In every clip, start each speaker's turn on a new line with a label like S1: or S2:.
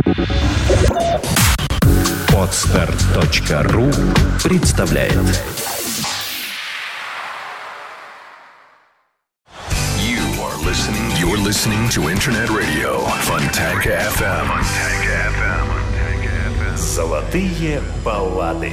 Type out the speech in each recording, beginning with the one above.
S1: Podster.ru представляет.
S2: You're listening to Internet Radio Fontanka FM.
S1: Золотые баллады.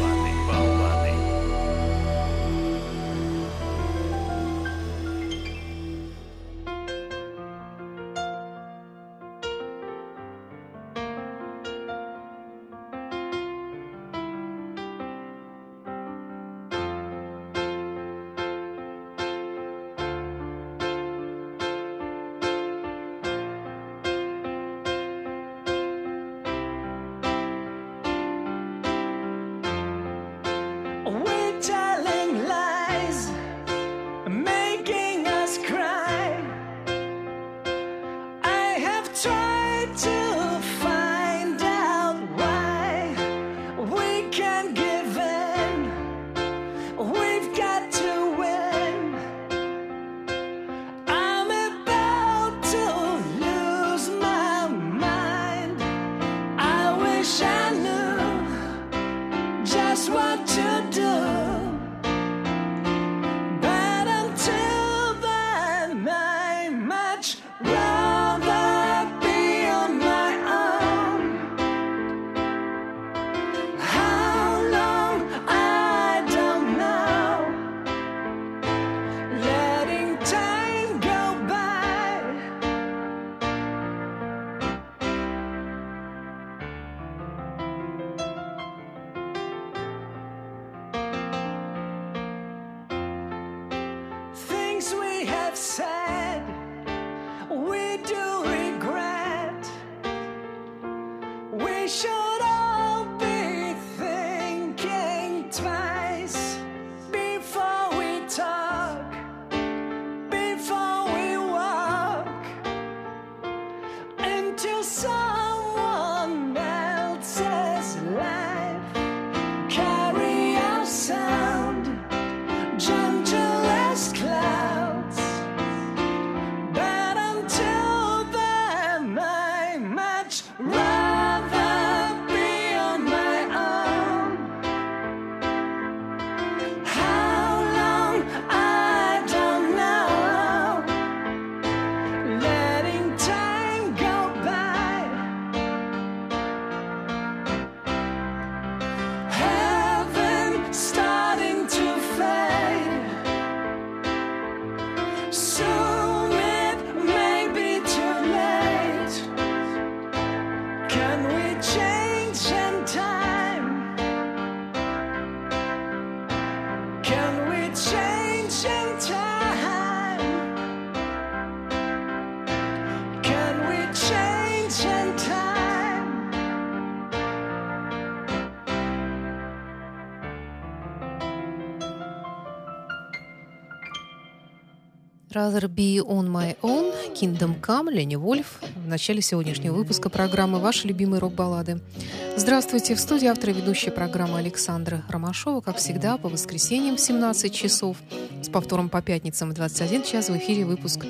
S3: Rather Be On My Own, Kingdom Come, Ленни Вольф. В начале сегодняшнего выпуска программы «Ваши любимые рок-баллады». Здравствуйте! В студии автор и ведущая программы Александра Ромашова. Как всегда, по воскресеньям в 17 часов, с повтором по пятницам в 21 час в эфире выпуск,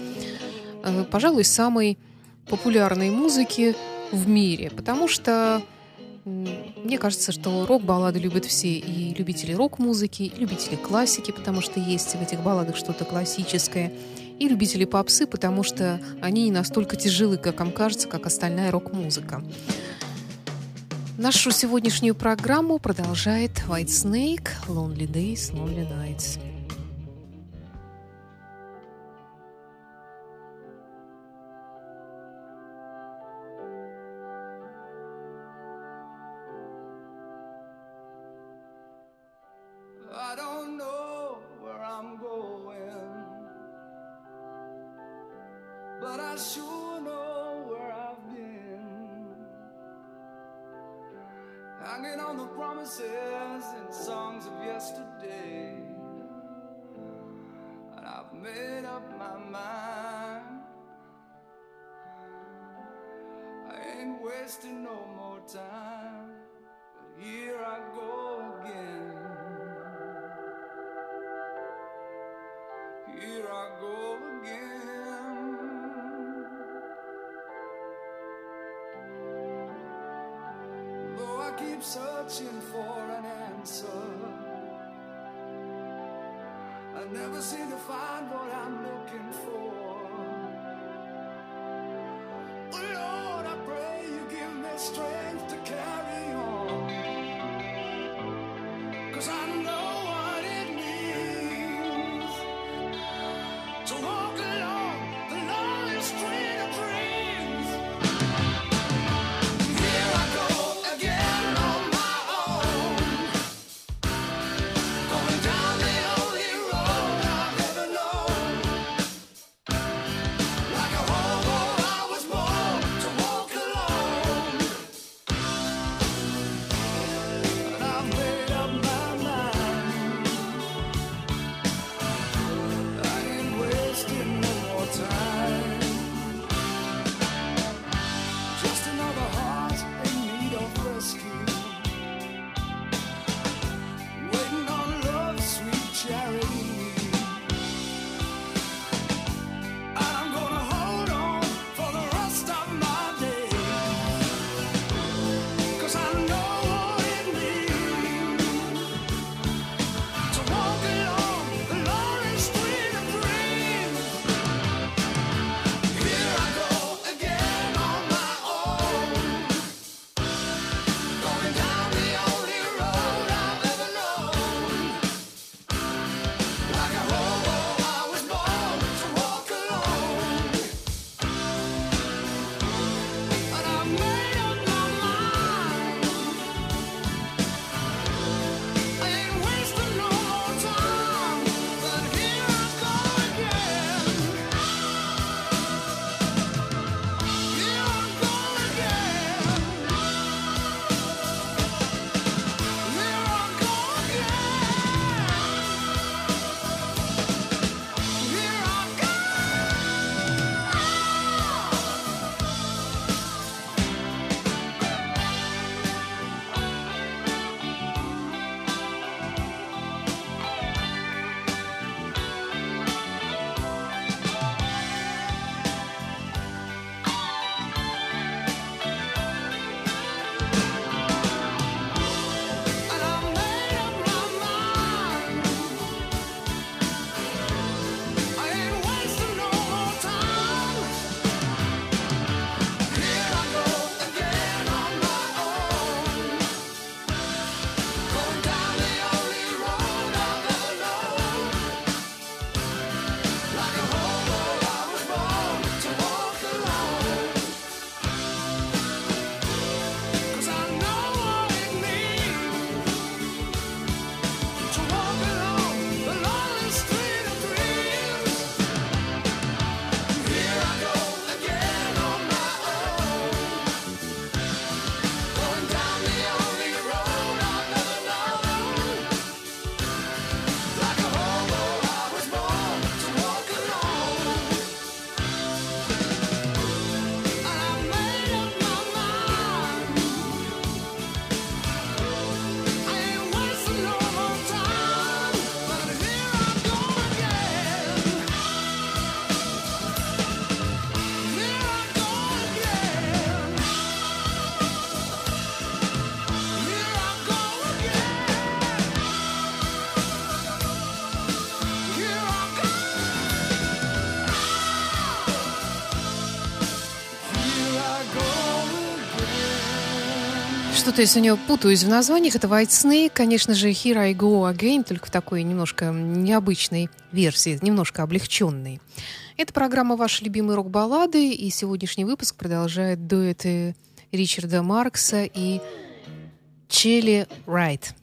S3: пожалуй, самой популярной музыки в мире. Потому что мне кажется, что рок-баллады любят все, и любители рок-музыки, и любители классики, потому что есть в этих балладах что-то классическое, и любители попсы, потому что они не настолько тяжелы, как вам кажется, как остальная рок-музыка. Нашу сегодняшнюю программу продолжает White Snake, Lonely Days, Lonely Nights.
S4: I don't know where I'm going, but I sure know where I've been. Hanging on the promises and songs of yesterday, and I've made up my mind. I ain't wasting no more time, but here I go again. Here I go again. I keep searching for an answer. I never seem to find what I'm looking for. Oh Lord, I pray you give me strength to carry on, 'cause I know what it means to walk along the lonely street of dreams. Here I go again on my own, going down the only road I've ever known. Like a hobo, I was born to walk alone, and I've made up my mind. I ain't wasting no more time. Just another heart in need of rescue, waiting on love's sweet charity. And I'm gonna hold on for the rest of my days, 'cause I know what it means to walk along the lonely street of dreams. Here I go again on my own, going down the only road I've ever known. Like a hobo, I was born to walk alone, and I've made up my mind. I ain't wasting no more time, but here I go again. Here I go again. Here I go again. Here I go. And I made up my mind. I ain't wasting no more time. Here I go again on my own, going down the only road I've ever known. Like a hobo, I was born to walk alone, 'cause I know what it means to walk along the lonely street of dreams. Here I go again on my own, going down the only road I've ever known. Like a hobo, I was born to walk alone, and I made up my mind. I ain't wasting no more time, but here I go again. Here I go again. Here I go again. Here I go. Here I go again.
S3: Что-то я сегодня путаюсь в названиях. Это White Snake, конечно же, Here I Go Again, только в такой немножко необычной версии, немножко облегченной. Это программа «Ваши любимые рок-баллады», и сегодняшний выпуск продолжает дуэты Ричарда Маркса и Челли Райт.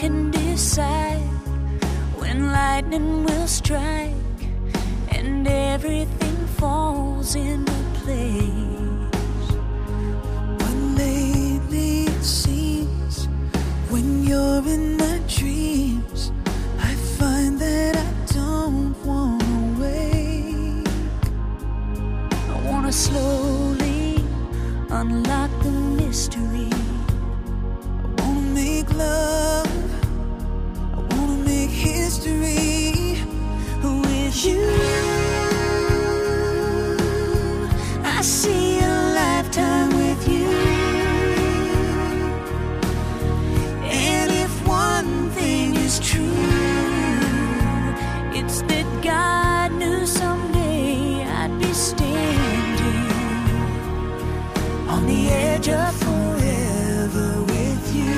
S5: lightning will strike and everything falls into place. But lately it seems when you're in my dreams, I find that I don't want to wake. I want to slowly unlock the mystery. I want to make love, I want to make history with you. I see a lifetime with you. And if one thing is true, it's that God knew someday I'd be standing on the edge of forever with you.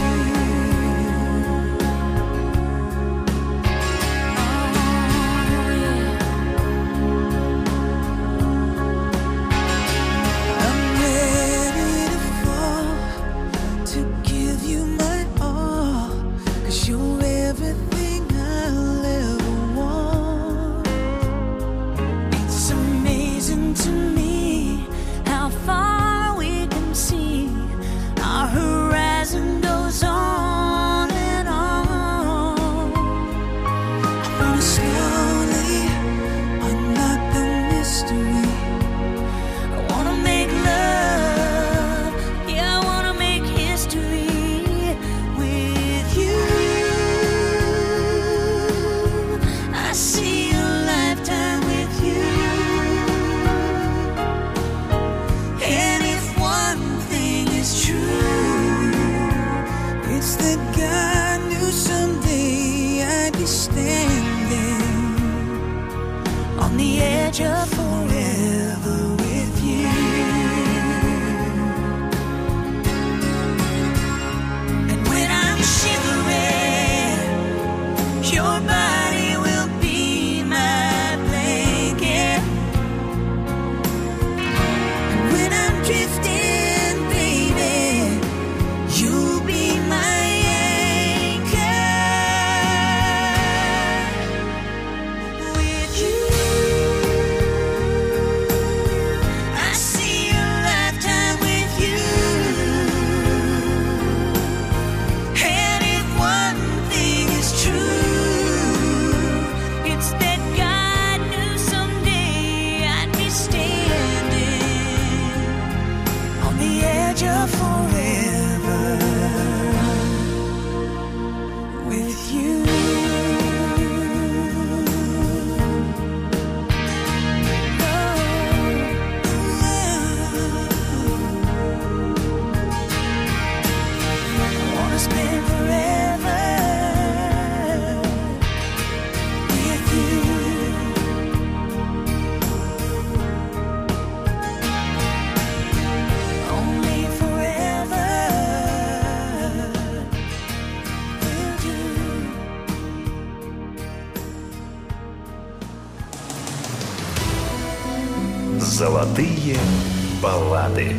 S1: Золотые баллады.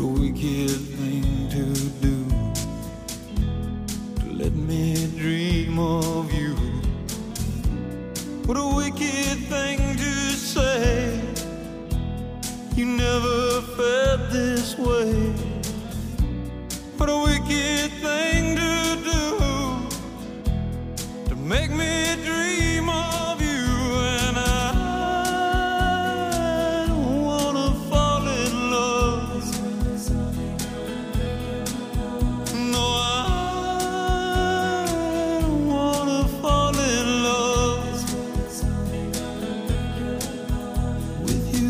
S6: wicked thing to do, to let me dream of you. What a wicked thing to say, you never felt this way. What a wicked thing to do, to make me dream of you. And I don't wanna fall in love. No, I don't wanna fall in love with you.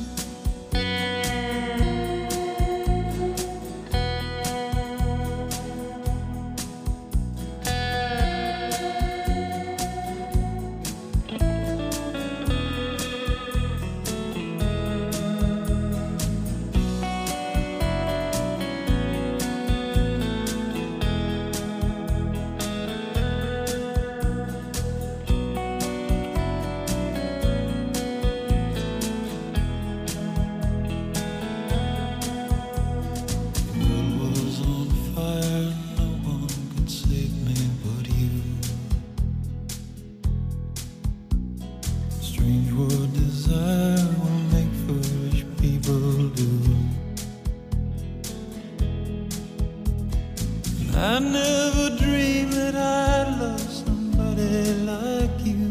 S6: I never dreamed that I'd love somebody like you.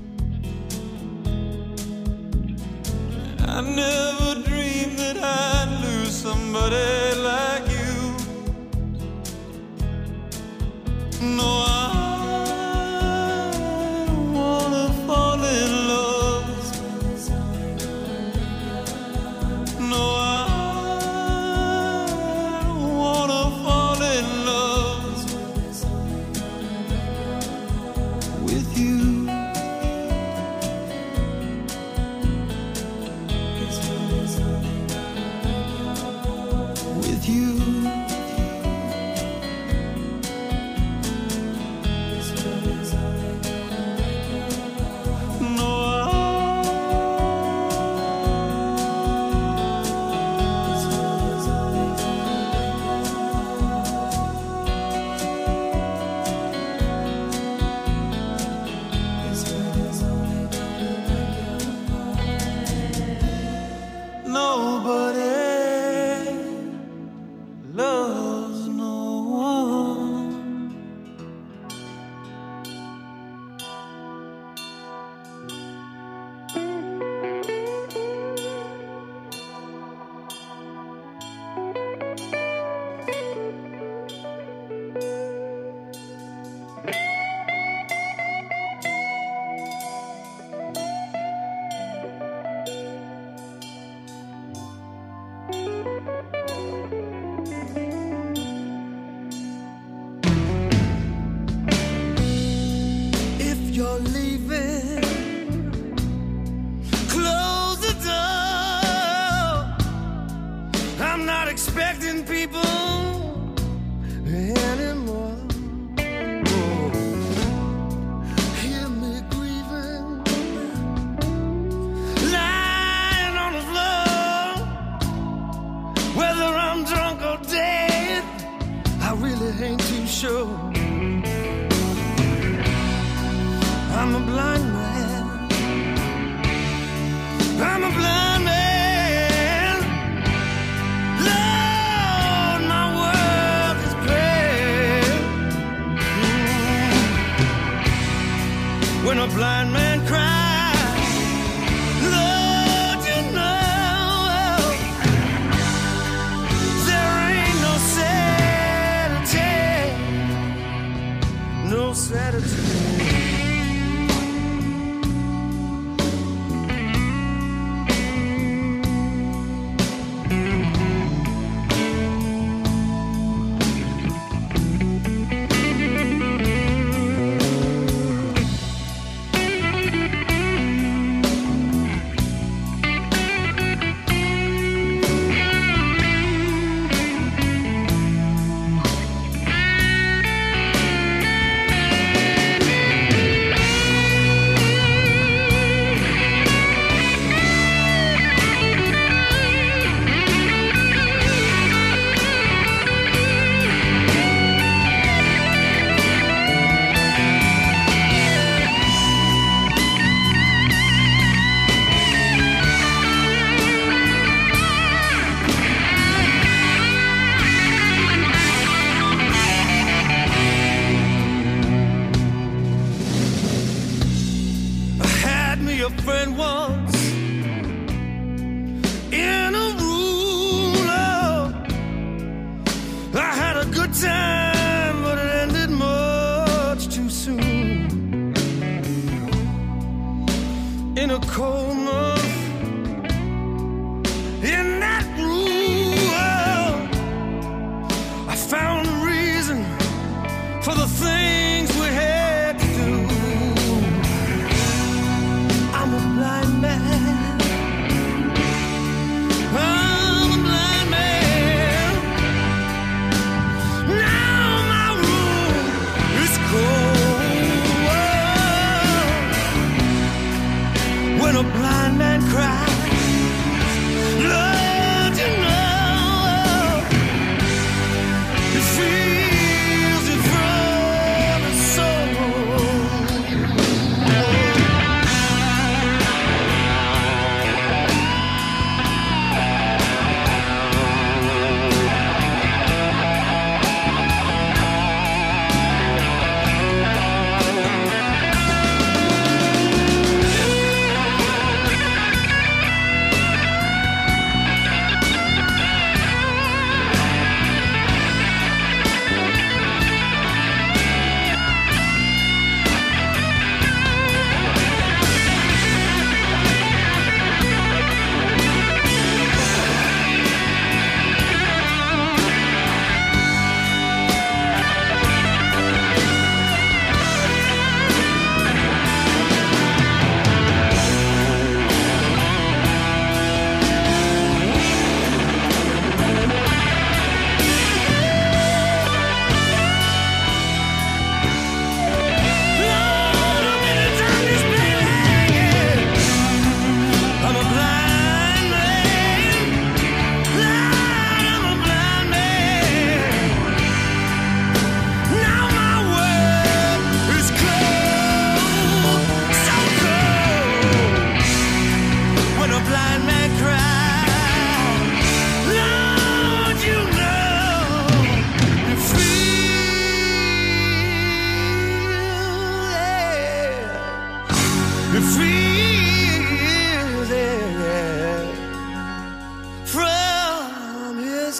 S6: I never dreamed that I'd lose somebody like you. No, I don't wanna fall in love. No, I don't wanna fall in love with you. With you. Nobody loves no one. If you're leaving, close the door. I'm not expecting people anymore. Oh, hear me grieving, lying on the floor. Whether I'm drunk or dead, I really ain't too sure. I'm a blind man. I'm a blind man. Lord, my world is great. When a blind man cries, Lord, you know there ain't no Saturday, no Saturday. cold month in that world. I found a reason for the things we had to do. I'm a blind man. I'm a blind man. Now my room is cold. When a blind man cries, Lord, you know, he feels it from his soul. From his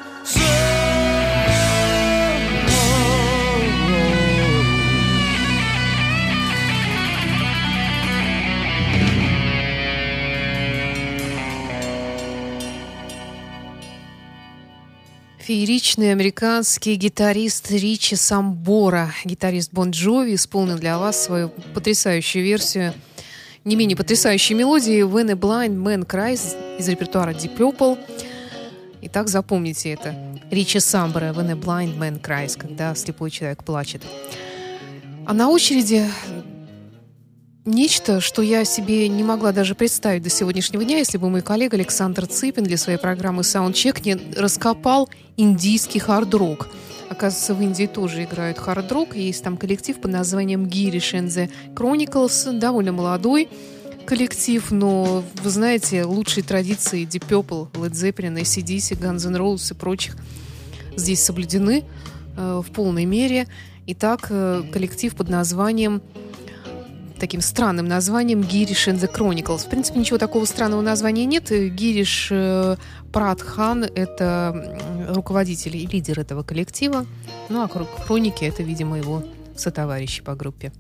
S3: Фееричный американский гитарист Ричи Самбора, гитарист Бон Джови, исполнил для вас свою потрясающую версию не менее потрясающей мелодии «When a Blind Man Cries» из репертуара Deep Purple. Итак, запомните это. Ричи Самбора «When a Blind Man Cries», когда слепой человек плачет. А на очереди нечто, что я себе не могла даже представить до сегодняшнего дня, если бы мой коллега Александр Цыпин для своей программы «Саундчек» не раскопал индийский хард-рок. Оказывается, в Индии тоже играют хард-рок. Есть там коллектив под названием Girish and the Chronicles. Довольно молодой коллектив, но, вы знаете, лучшие традиции Deep Purple, Led Zeppelin, AC/DC, Guns N' Roses и прочих здесь соблюдены в полной мере. Итак, коллектив под названием, таким странным названием Girish and the Chronicles. В принципе, ничего такого странного названия нет. Гириш Прадхан — это руководитель и лидер этого коллектива. Ну, а Хроники — это, видимо, его сотоварищи по группе.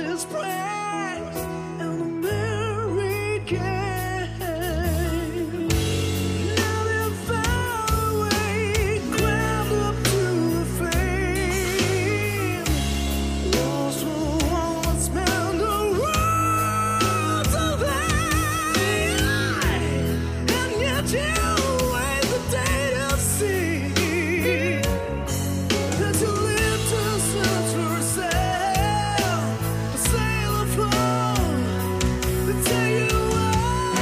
S4: his praise and the merry game. Now they found a way, climbed up to the fame. Lost were once meant to rule to them, and yet you wait the day to see that you live to search for a sail afloat, to tell you why.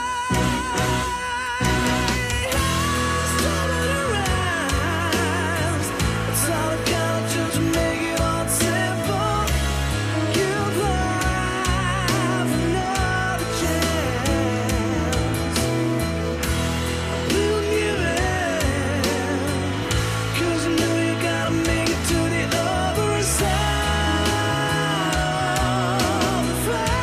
S4: Started to rise, it's all I got just make it all simple. Give life another chance. We'll give it, 'cause you know you gotta make it to the other side of the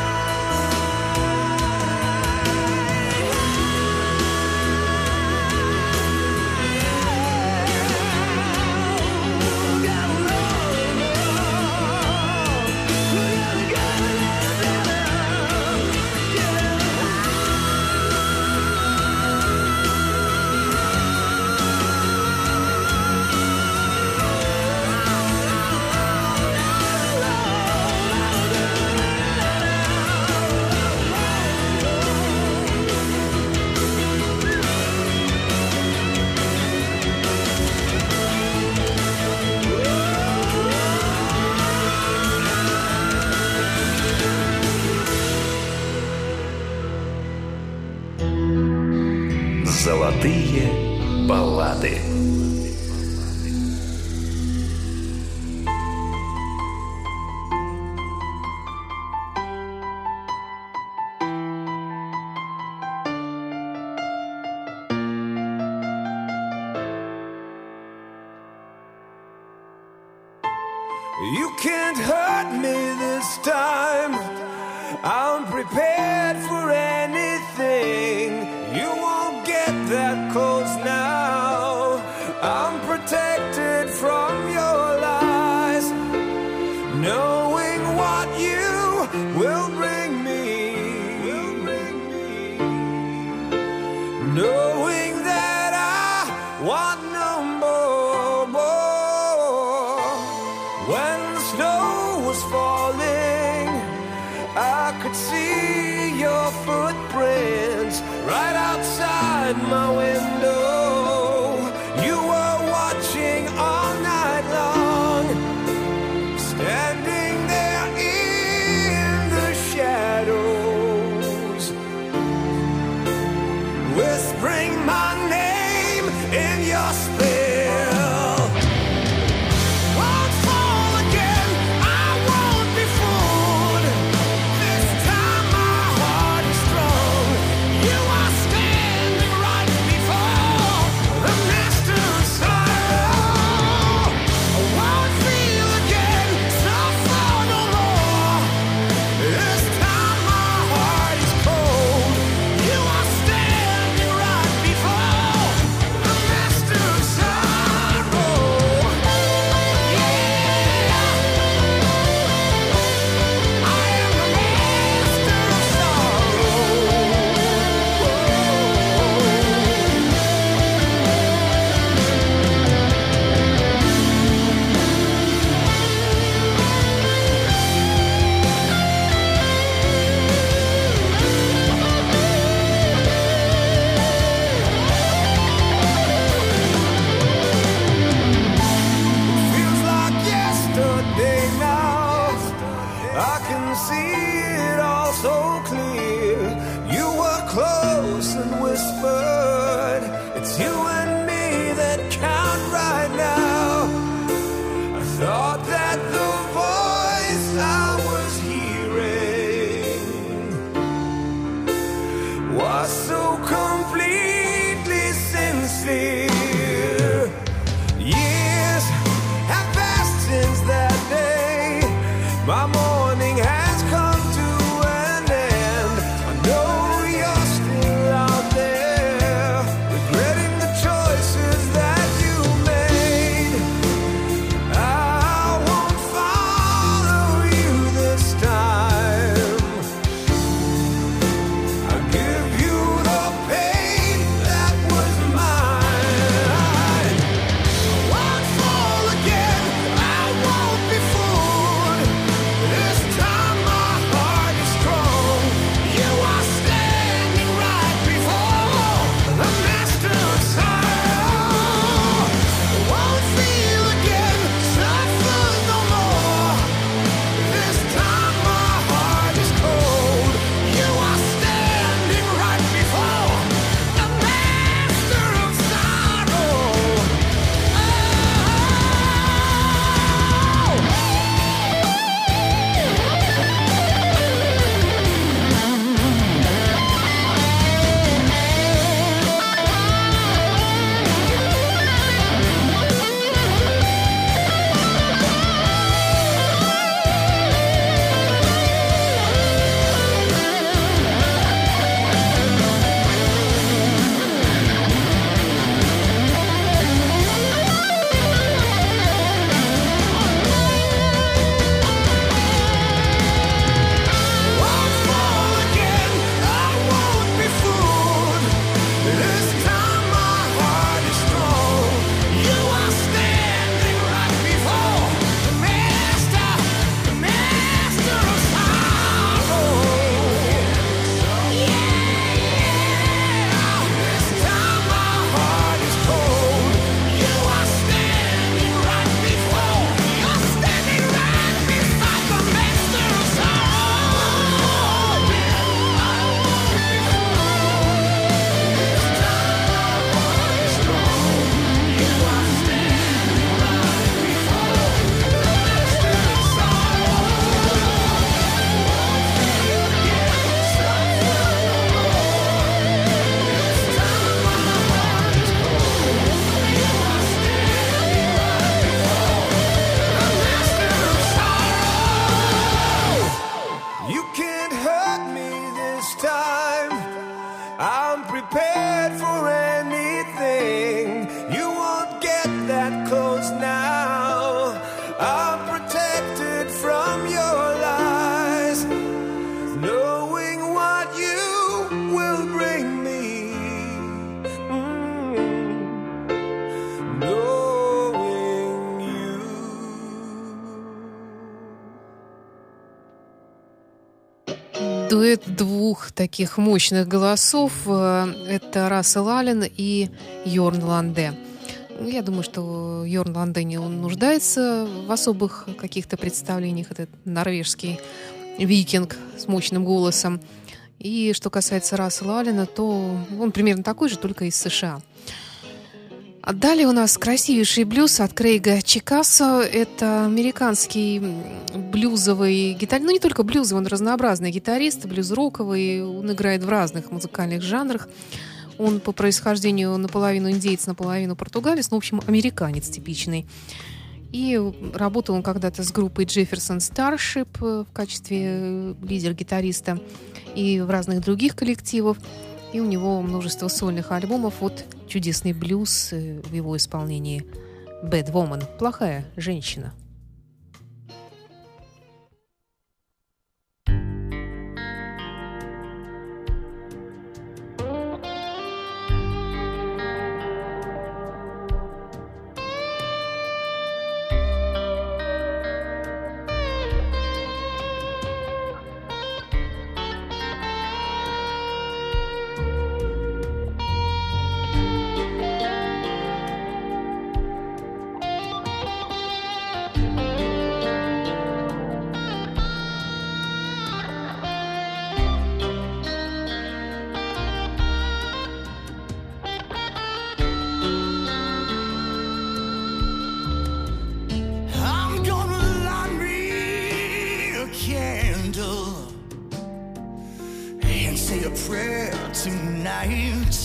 S1: Золотые баллады.
S6: You can't hurt me this time. I'm prepared for anything. You won't get that close now. I'm protected from your lies, knowing what you will bring me. Knowing that I want no more. When the snow was falling, I could see your footprints right outside my window. You were watching all night long, standing there in the shadows, whispering my name in your spell. Won't fall again, I won't be fooled. This time my heart is strong. You are standing right before the master's sorrow. I won't feel again, suffer no more. This time my heart is cold. You are standing right before the master's sorrow. Yeah, I am the master of sorrow. Feels like yesterday now. I can see it all so clear. You were close and whispered, it's you and me that count right now. I thought that the voice I was hearing was so completely sincere. Years have passed since that day. My morning has come to an end. I know you're still out there, regretting the choices that you made. I won't follow you this time. prepared for anything. You won't get that close now. I'm protected from your lies, knowing what you will bring me. Knowing you.
S3: Дуэт двух таких мощных голосов – это Рассел Аллен и Йорн Ланде. Я думаю, что Йорн Ланде не нуждается в особых каких-то представлениях. Это норвежский викинг с мощным голосом. И что касается Рассела Аллена, то он примерно такой же, только из США. А далее у нас красивейший блюз от Крейга Чикасо. Это американский блюзовый гитарист. Ну, не только блюзовый, он разнообразный гитарист, блюз-роковый. Он играет в разных музыкальных жанрах. Он по происхождению наполовину индейец, наполовину португалец. Ну, в общем, американец типичный. И работал он когда-то с группой Jefferson Starship в качестве лидер-гитариста и в разных других коллективах. И у него множество сольных альбомов. Вот чудесный блюз в его исполнении «Bad Woman» – «Плохая женщина».
S4: I'm gonna light me a candle and say a prayer tonight,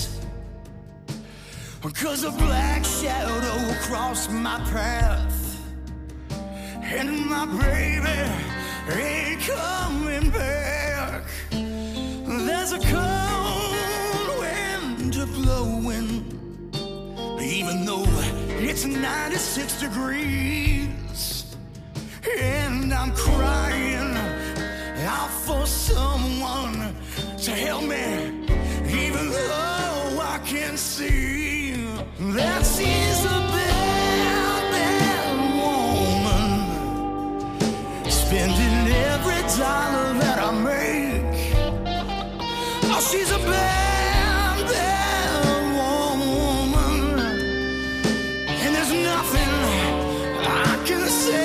S4: 'cause a black shadow crossed my path and my baby ain't coming back. There's a cold wind blowing, even though it's 96 degrees, and I'm crying out for someone to help me, even though I can see that she's a bad, bad woman, spending every dollar that I make. Oh, she's a bad, bad woman, and there's nothing I can say.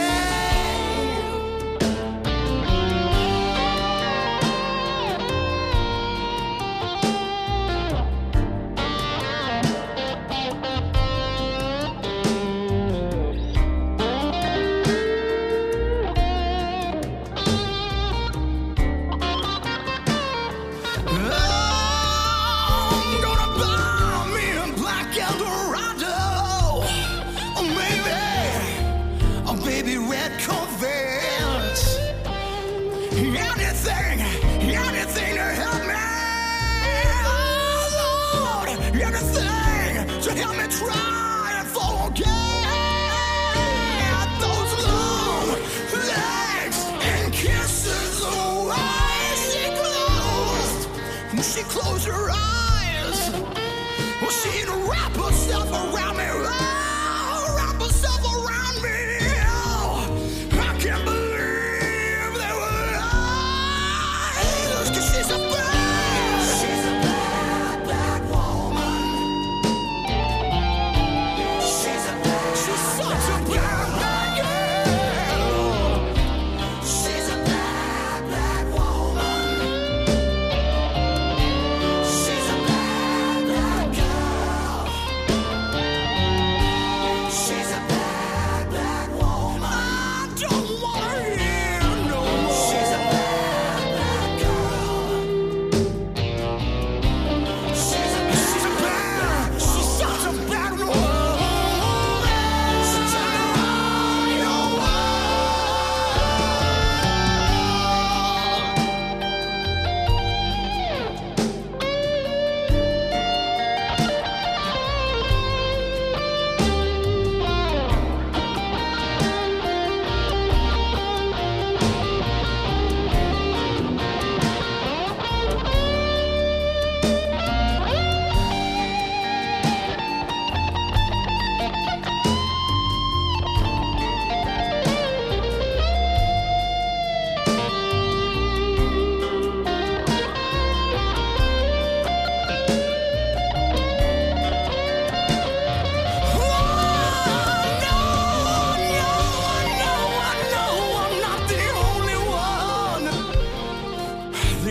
S4: I'm gonna buy me a black Eldorado, or maybe a baby red Corvette. Anything to help me, oh Lord, anything to help me try and forget those long legs and kisses the way she closed. When she closed her eyes, well, she'd wrap herself around me, oh, wrap herself around me. Oh, I can't believe they were lies, 'cause she's a bad, bad woman. She's such a bad, bad girl. She's a bad, bad woman. She's a bad, bad girl.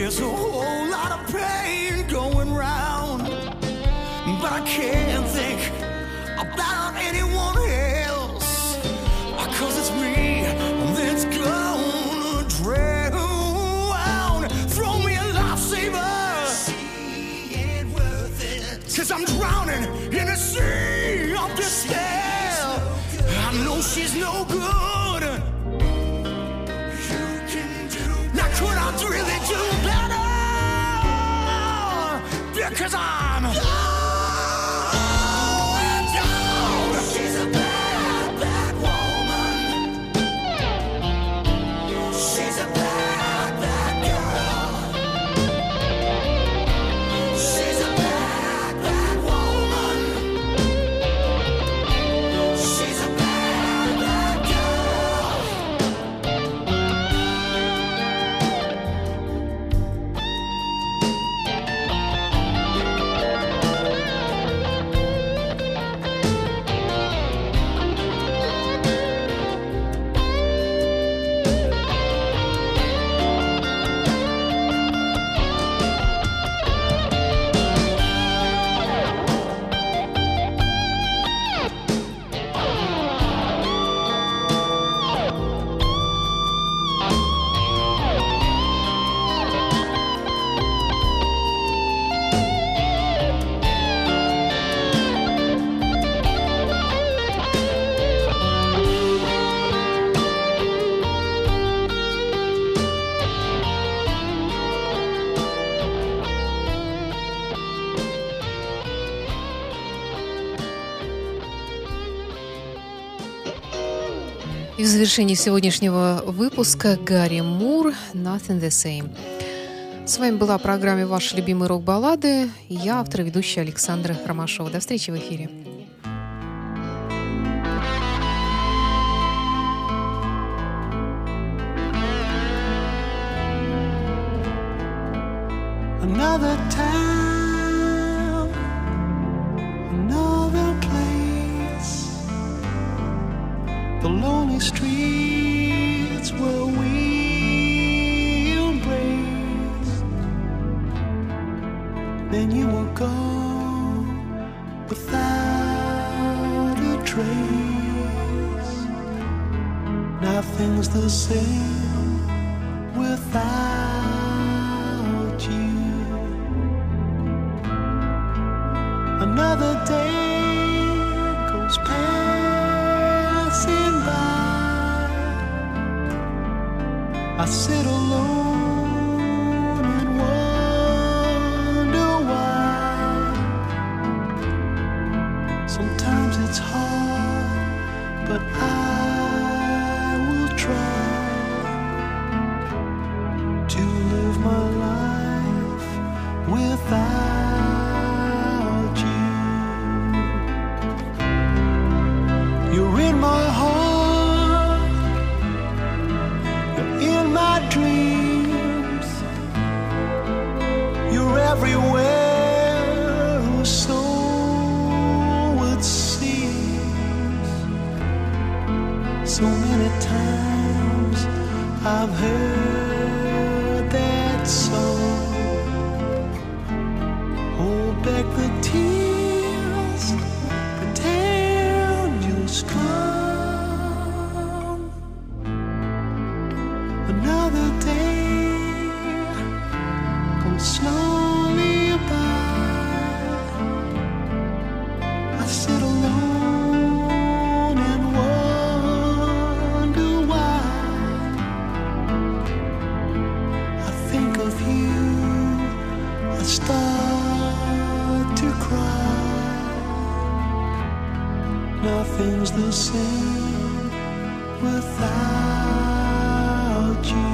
S4: There's a whole lot of pain going round, but I can't think about anyone else, 'cause it's me that's gonna drown. Throw me a lifesaver, she ain't worth it, 'cause I'm drowning in a sea of despair. I know she's no good. You can do better. Now could I really do better? Because I'm going down. She's a bad, bad woman. She's a bad, bad girl. She's a bad, bad woman. She's a bad, bad girl.
S3: И в завершении сегодняшнего выпуска Гарри Мур «Nothing the Same». С вами была в программе «Ваши любимые рок-баллады». И я, автор и ведущая Александра Ромашова. До встречи в эфире.
S6: Another town, another place, the lonely streets where we embrace. Then you were gone without a trace. Nothing's the same without you. Another day goes passing by. I sit alone and wonder why. Sometimes it's hard, but I will try to live my life without you. You're in my heart, you're in my dreams, you're everywhere, so it seems. So many times I've heard that song. Hold back the tears, pretend you're strong. Another day comes slowly by. I sit alone and wonder why. I think of you, I start to cry. Nothing's the same without you.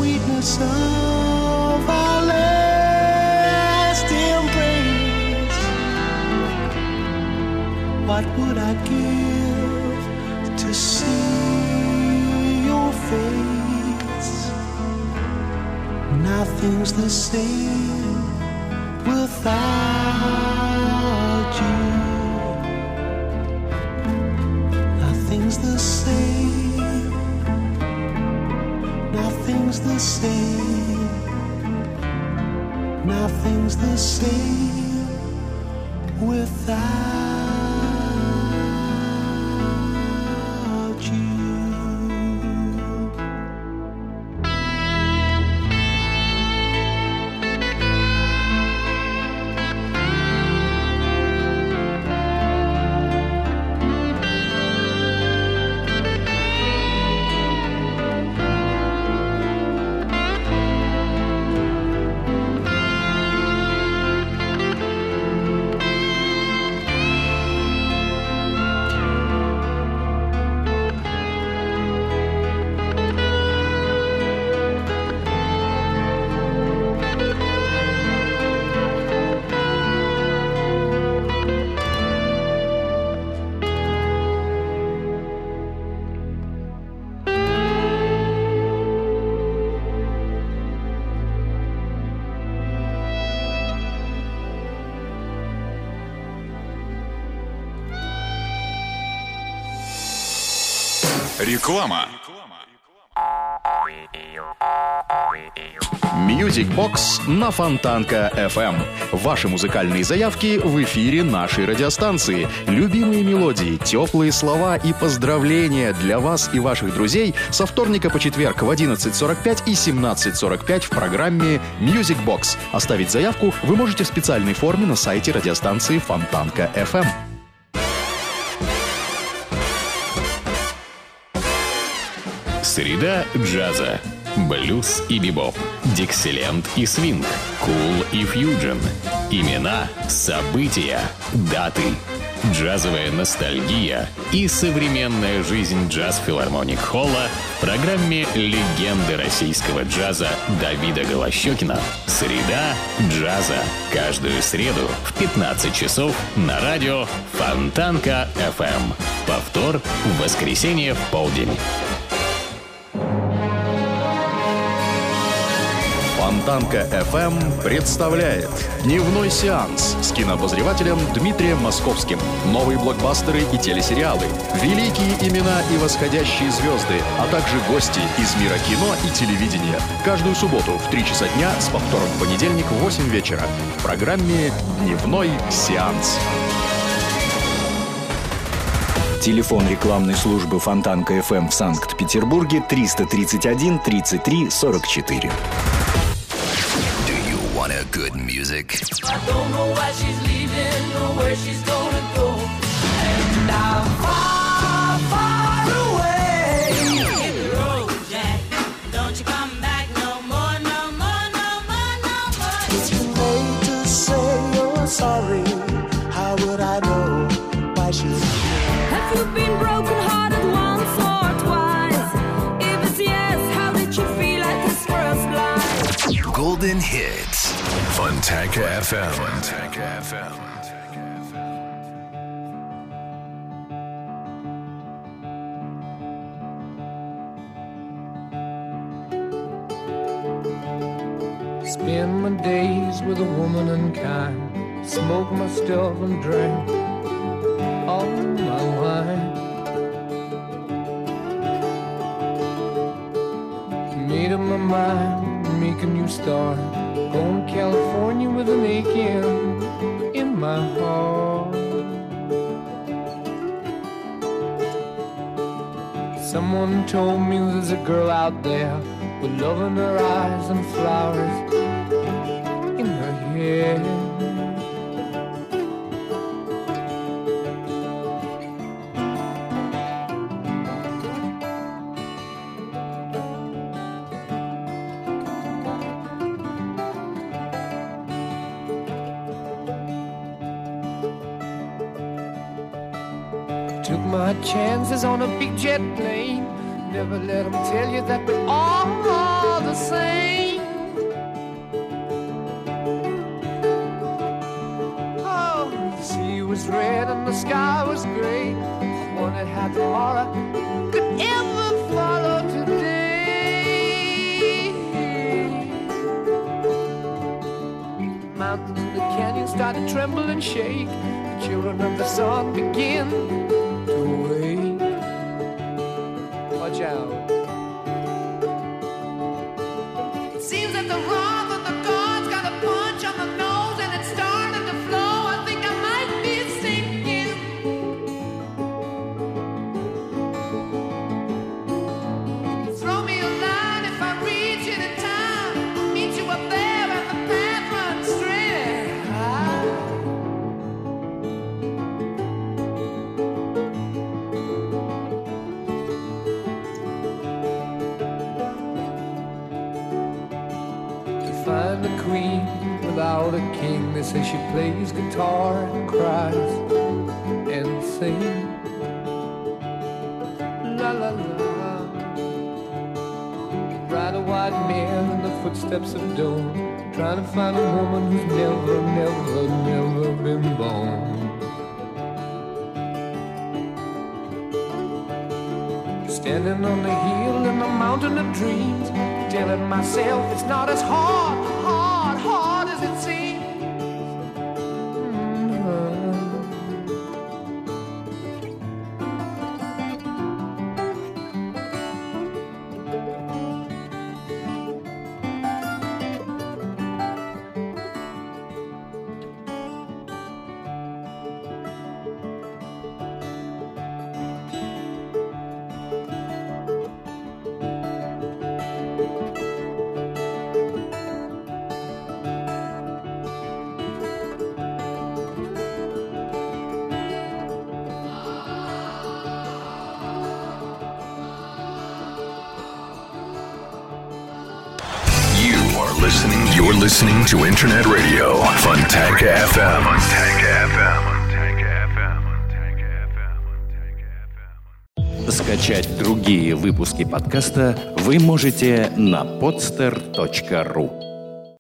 S7: sweetness of our last embrace. What would I give to see your face? Nothing's the same without you. Nothing's the same. Nothing's the same. Nothing's the same without you.
S2: Реклама.
S8: Music Box на Фонтанка FM. Ваши музыкальные заявки в эфире нашей радиостанции. Любимые мелодии, теплые слова и поздравления для вас и ваших друзей со вторника по четверг в 11:45 и 17:45 в программе Music Box. Оставить заявку вы можете в специальной форме на сайте радиостанции Фонтанка FM.
S1: Среда джаза. Блюз и бибоп, диксиленд и свинг, кул и фьюджен. Имена, события, даты. Джазовая ностальгия и современная жизнь джаз-филармоник-холла в программе «Легенды российского джаза» Давида Голощёкина. Среда джаза. Каждую среду в 15 часов на радио Фонтанка FM. Повтор в воскресенье в полдень.
S8: Фонтанка FM представляет дневной сеанс с кинообозревателем Дмитрием Московским. Новые блокбастеры и телесериалы, великие имена и восходящие звезды, а также гости из мира кино и телевидения. Каждую субботу в 3 часа дня с повтором в понедельник в 8 вечера в программе «Дневной сеанс».
S9: Телефон рекламной службы Фонтанка FM в Санкт-Петербурге 331 33 44.
S2: Good music.
S5: I don't know why she's leaving or where she's gonna go. And I'm far, far away. Hit the road, Jack. Don't you come back no more, no more, no more, no more.
S7: It's too late to say you're sorry. How would I know why she's...
S5: Have you been broken hearted once or twice? If it's yes, how did you feel at this first line?
S2: Golden hits. Fontanka FM. Fontanka FM.
S6: Spend my days with a woman unkind. Smoke my stuff and drink all my wine. Made up my mind, make a new start. Going to California with an aching in my heart. Someone told me there's a girl out there with love in her eyes and flowers in her hair. Took my chances on a big jet plane. Never let them tell you that we're all the same. Oh, the sea was red and the sky was gray. I wondered how tomorrow could ever follow today. The mountains and the canyons started to tremble and shake. The children of the sun began to wake. Watch out. It seems that the wrath of the gods got a punch on the nose and it's starting to flow. I think I might be sinking. Throw me a line if I reach it in time. I'll meet you up there and the path runs straight. To find the queen without a king, they say she plays guitar and cries and sings. La la la. Ride a white mare in the footsteps of dawn, trying to find a woman who's never, never, never been born. Standing on the hill in the mountain of dreams, telling myself it's not as hard, hard, hard as it seems.
S2: You're listening to Internet Radio Fontanka FM.
S9: Скачать другие выпуски подкаста вы можете на podster.ru.